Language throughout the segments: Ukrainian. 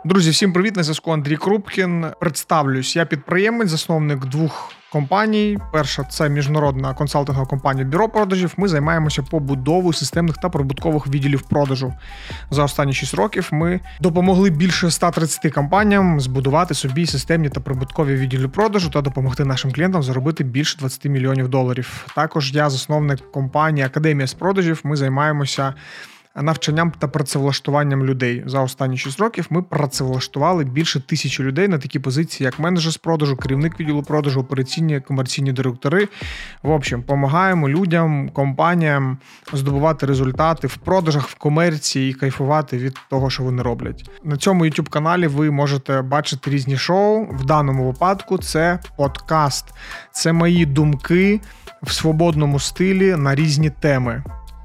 Друзі, всім привіт, на зв'язку Андрій Крупкін. Представлюсь, я підприємець, засновник двох компаній. Перша – це міжнародна консалтингова компанія «Бюро продажів». Ми займаємося побудовою системних та прибуткових відділів продажу. За останні 6 років ми допомогли більше 130 компаніям збудувати собі системні та прибуткові відділи продажу та допомогти нашим клієнтам заробити більше $20 мільйонів. Також я засновник компанії «Академія з продажів». Ми займаємося навчанням та працевлаштуванням людей. За останні 6 років ми працевлаштували більше 1000 людей на такі позиції, як менеджер з продажу, керівник відділу продажу, операційні, комерційні директори. В общем, допомагаємо людям, компаніям здобувати результати в продажах, в комерції і кайфувати від того, що вони роблять. На цьому YouTube-каналі ви можете бачити різні шоу. В даному випадку це подкаст. Це мої думки в свободному стилі на різні теми.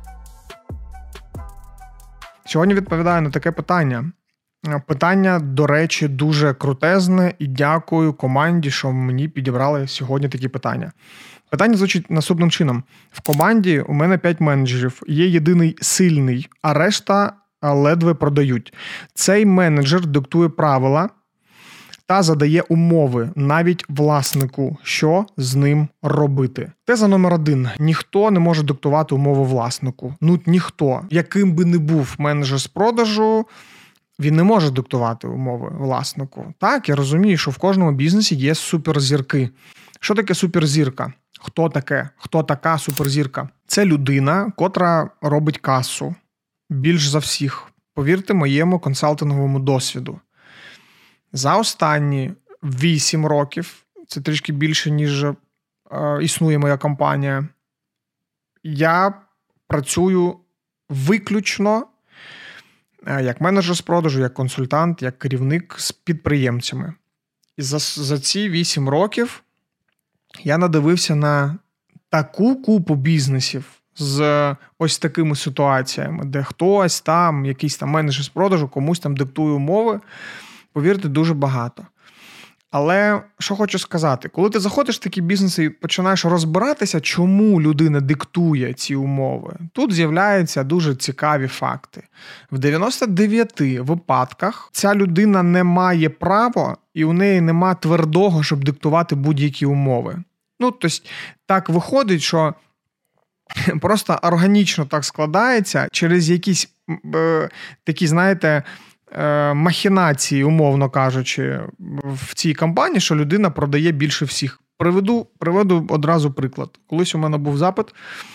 Сьогодні відповідаю на таке питання. Питання, до речі, дуже крутезне, і дякую команді, що мені підібрали сьогодні такі питання. Питання звучить наступним чином. В команді у мене 5 менеджерів, є єдиний сильний, а решта ледве продають. Цей менеджер диктує правила та задає умови навіть власнику, що з ним робити. Теза номер 1. Ніхто не може диктувати умови власнику. Ніхто. Яким би не був менеджер з продажу, він не може диктувати умови власнику. Так, я розумію, що в кожному бізнесі є суперзірки. Що таке суперзірка? Хто така суперзірка? Це людина, котра робить касу. Більш за всіх. Повірте моєму консалтинговому досвіду. За останні 8 років, це трішки більше, ніж існує моя компанія, я працюю виключно як менеджер з продажу, як консультант, як керівник з підприємцями. І за ці 8 років я надивився на таку купу бізнесів з ось такими ситуаціями, де хтось там, якийсь там менеджер з продажу, комусь там диктує умови. Повірте, дуже багато. Але що хочу сказати, коли ти заходиш в такі бізнеси і починаєш розбиратися, чому людина диктує ці умови, тут з'являються дуже цікаві факти. В 99 випадках ця людина не має права і у неї нема твердого, щоб диктувати будь-які умови. Тобто, так виходить, що просто органічно так складається через якісь такі, знаєте, махінації, умовно кажучи, в цій компанії, що людина продає більше всіх. Приведу одразу приклад. Колись у мене був запит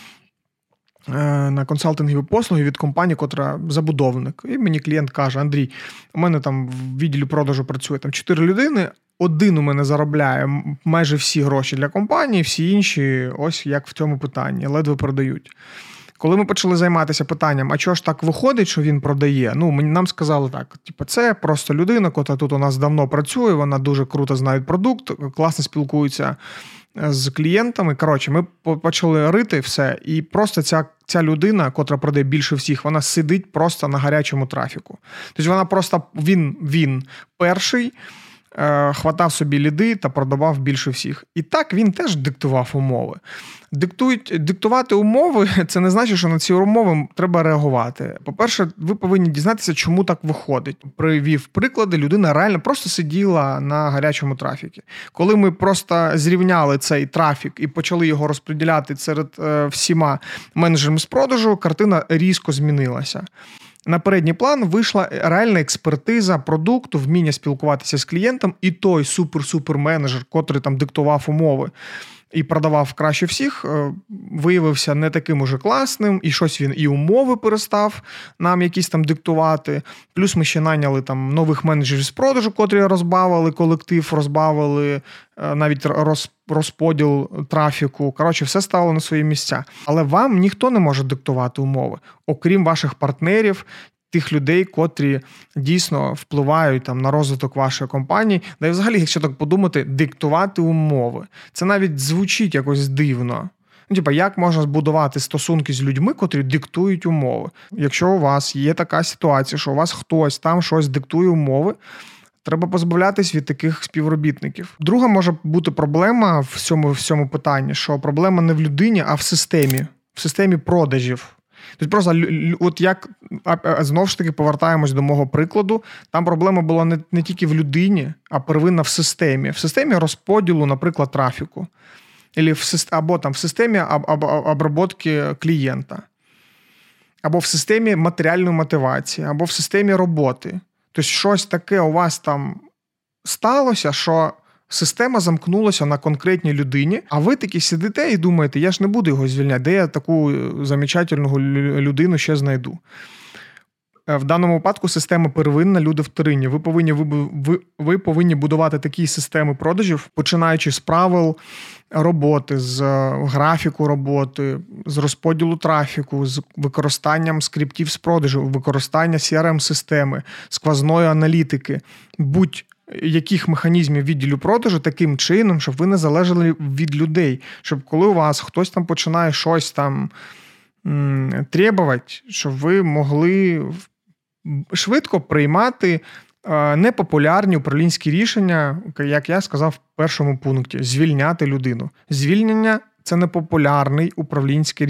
на консалтингові послуги від компанії, котра забудовник. І мені клієнт каже: Андрій, у мене там в відділі продажу працює 4 людини, один у мене заробляє майже всі гроші для компанії, всі інші, ось як в цьому питанні, ледве продають. Коли ми почали займатися питанням, а чого ж так виходить, що він продає, нам сказали так, це просто людина, яка тут у нас давно працює, вона дуже круто знає продукт, класно спілкується з клієнтами. Коротше, ми почали рити все, і просто ця людина, котра продає більше всіх, вона сидить просто на гарячому трафіку. Тобто вона просто, він перший, хватав собі ліди та продавав більше всіх. І так він теж диктував умови. Диктувати умови – це не значить, що на ці умови треба реагувати. По-перше, ви повинні дізнатися, чому так виходить. Привів приклади, людина реально просто сиділа на гарячому трафіку. Коли ми просто зрівняли цей трафік і почали його розподіляти серед всіма менеджерами з продажу, картина різко змінилася. На передній план вийшла реальна експертиза продукту, вміння спілкуватися з клієнтом, і той супер-супер менеджер, котрий там диктував умови і продавав краще всіх, виявився не таким уже класним, і щось він і умови перестав нам якісь там диктувати. Плюс ми ще найняли там нових менеджерів з продажу, котрі розбавили колектив, розбавили навіть розподіл трафіку. Коротше, все стало на свої місця. Але вам ніхто не може диктувати умови, окрім ваших партнерів, тих людей, котрі дійсно впливають там на розвиток вашої компанії. Да і взагалі, якщо так подумати, диктувати умови. Це навіть звучить якось дивно. Як можна збудувати стосунки з людьми, котрі диктують умови? Якщо у вас є така ситуація, що у вас хтось там щось диктує умови, треба позбавлятись від таких співробітників. Друга може бути проблема в цьому питанні, що проблема не в людині, а в системі продажів. Тобто просто, от як Знову ж таки, повертаємось до мого прикладу. Там проблема була не тільки в людині, а первинна в системі. В системі розподілу, наприклад, трафіку. Або там в системі обробки клієнта. Або в системі матеріальної мотивації, або в системі роботи. Тобто щось таке у вас там сталося, що система замкнулася на конкретній людині, а ви таки сидите і думаєте, я ж не буду його звільняти, де я таку замечательну людину ще знайду. В даному випадку система первинна, люди вторинні. Ви повинні будувати такі системи продажів, починаючи з правил роботи, з графіку роботи, з розподілу трафіку, з використанням скриптів з продажу, використання CRM-системи, сквозної аналітики, будь-яких механізмів відділу продажу таким чином, щоб ви не залежали від людей. Щоб коли у вас хтось там починає щось там требувати, щоб ви могли швидко приймати непопулярні управлінські рішення, як я сказав в першому пункті, звільняти людину. Звільнення – це непопулярне управлінське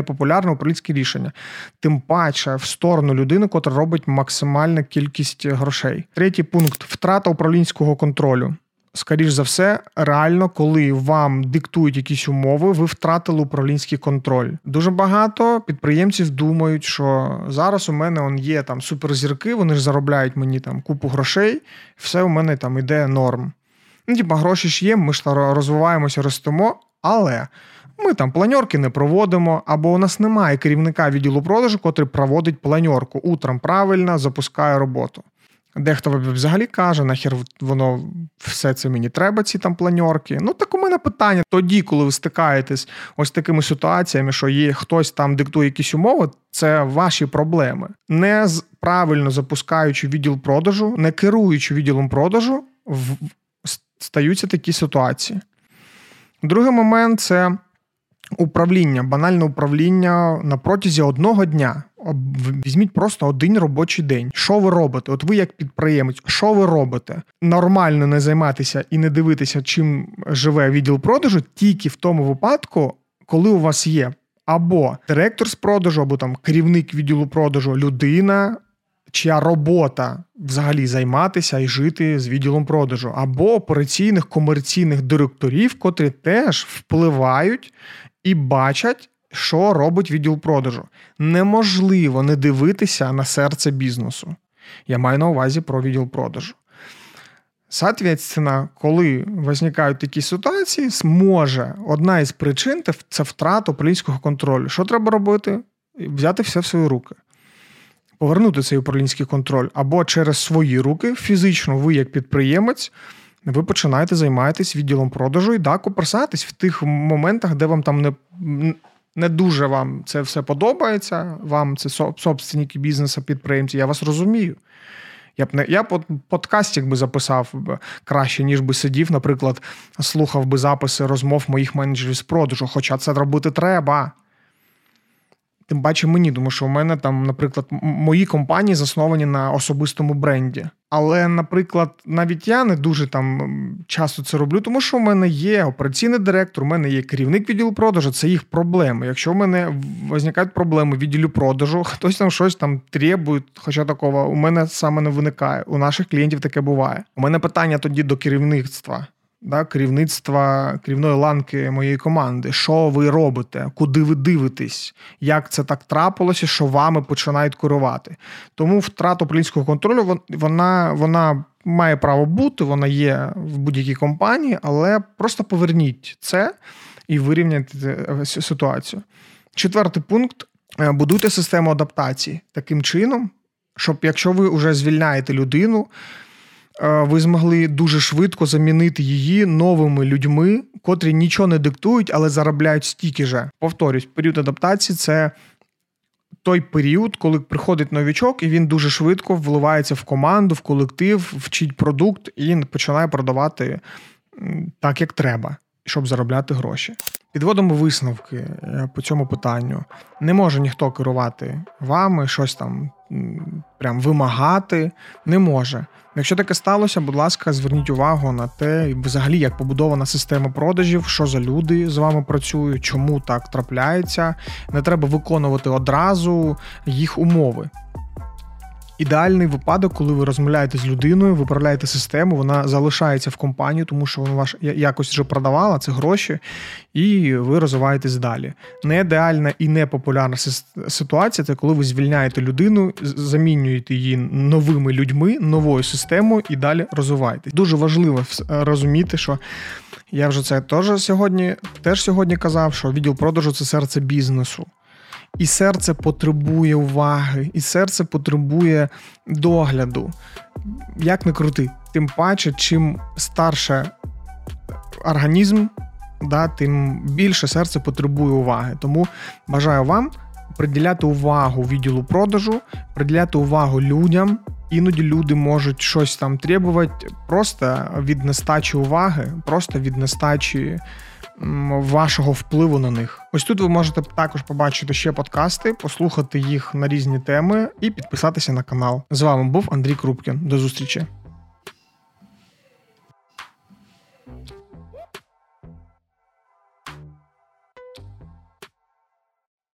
рішення. Тим паче в сторону людини, котра робить максимальну кількість грошей. Третій пункт – втрата управлінського контролю. Скоріш за все, реально, коли вам диктують якісь умови, ви втратили управлінський контроль. Дуже багато підприємців думають, що зараз у мене є там суперзірки, вони ж заробляють мені там купу грошей, все у мене там іде норм. Гроші ж є, ми ж розвиваємося, ростемо, але ми там планерки не проводимо, або у нас немає керівника відділу продажу, котрий проводить планерку. Утром правильно запускає роботу. Дехто взагалі каже, нахер воно все це мені треба, ці там планерки. Так у мене питання. Тоді, коли ви стикаєтесь ось такими ситуаціями, що є хтось там диктує якісь умови, це ваші проблеми. Не правильно запускаючи відділ продажу, не керуючи відділом продажу, стаються такі ситуації. Другий момент – це управління, банальне управління на протязі одного дня. Візьміть просто один робочий день. Що ви робите? От ви як підприємець, що ви робите? Нормально не займатися і не дивитися, чим живе відділ продажу, тільки в тому випадку, коли у вас є або директор з продажу, або там керівник відділу продажу, людина, чия робота взагалі займатися і жити з відділом продажу, або операційних комерційних директорів, котрі теж впливають і бачать, що робить відділ продажу. Неможливо не дивитися на серце бізнесу. Я маю на увазі про відділ продажу. Соответственно, коли виникають такі ситуації, може одна із причин – це втрата управлінського контролю. Що треба робити? Взяти все в свої руки. Повернути цей управлінський контроль. Або через свої руки, фізично ви як підприємець, ви починаєте займатися відділом продажу і копирсатись в тих моментах, де вам там не дуже вам це все подобається, вам це собственники бізнесу, підприємці, я вас розумію. Я б подкастик би записав краще, ніж би сидів, наприклад, слухав би записи розмов моїх менеджерів з продажу, хоча це робити треба. Тим паче мені, тому що у мене там, наприклад, мої компанії засновані на особистому бренді. Але, наприклад, навіть я не дуже там часто це роблю, тому що у мене є операційний директор, у мене є керівник відділу продажу, це їх проблеми. Якщо у мене виникають проблеми в відділі продажу, хтось там щось там требує, хоча такого у мене саме не виникає. У наших клієнтів таке буває. У мене питання тоді до керівництва. Керівної ланки моєї команди. Що ви робите? Куди ви дивитесь? Як це так трапилося, що вами починають керувати? Тому втрата управлінського контролю, вона має право бути, вона є в будь-якій компанії, але просто поверніть це і вирівняйте ситуацію. Четвертий пункт – будуйте систему адаптації. Таким чином, щоб якщо ви вже звільняєте людину, ви змогли дуже швидко замінити її новими людьми, котрі нічого не диктують, але заробляють стільки же. Повторюсь, період адаптації – це той період, коли приходить новічок, і він дуже швидко вливається в команду, в колектив, вчить продукт і починає продавати так, як треба, щоб заробляти гроші. Підводимо висновки по цьому питанню. Не може ніхто керувати вами, щось там прям вимагати. Не може. Якщо таке сталося, будь ласка, зверніть увагу на те, взагалі, як побудована система продажів, що за люди з вами працюють, чому так трапляється. Не треба виконувати одразу їх умови. Ідеальний випадок, коли ви розмовляєте з людиною, виправляєте систему, вона залишається в компанії, тому що вона ваш якось вже продавала, це гроші, і ви розвиваєтесь далі. Не ідеальна і не популярна ситуація – це коли ви звільняєте людину, замінюєте її новими людьми, новою системою і далі розвиваєтесь. Дуже важливо розуміти, що я вже це теж сьогодні казав, що відділ продажу – це серце бізнесу. І серце потребує уваги, і серце потребує догляду. Як не крути. Тим паче, чим старше організм, тим більше серце потребує уваги. Тому бажаю вам приділяти увагу відділу продажу, приділяти увагу людям. Іноді люди можуть щось там требувати просто від нестачі уваги, просто від нестачі вашого впливу на них. Ось тут ви можете також побачити ще подкасти, послухати їх на різні теми і підписатися на канал. З вами був Андрій Крупкін. До зустрічі.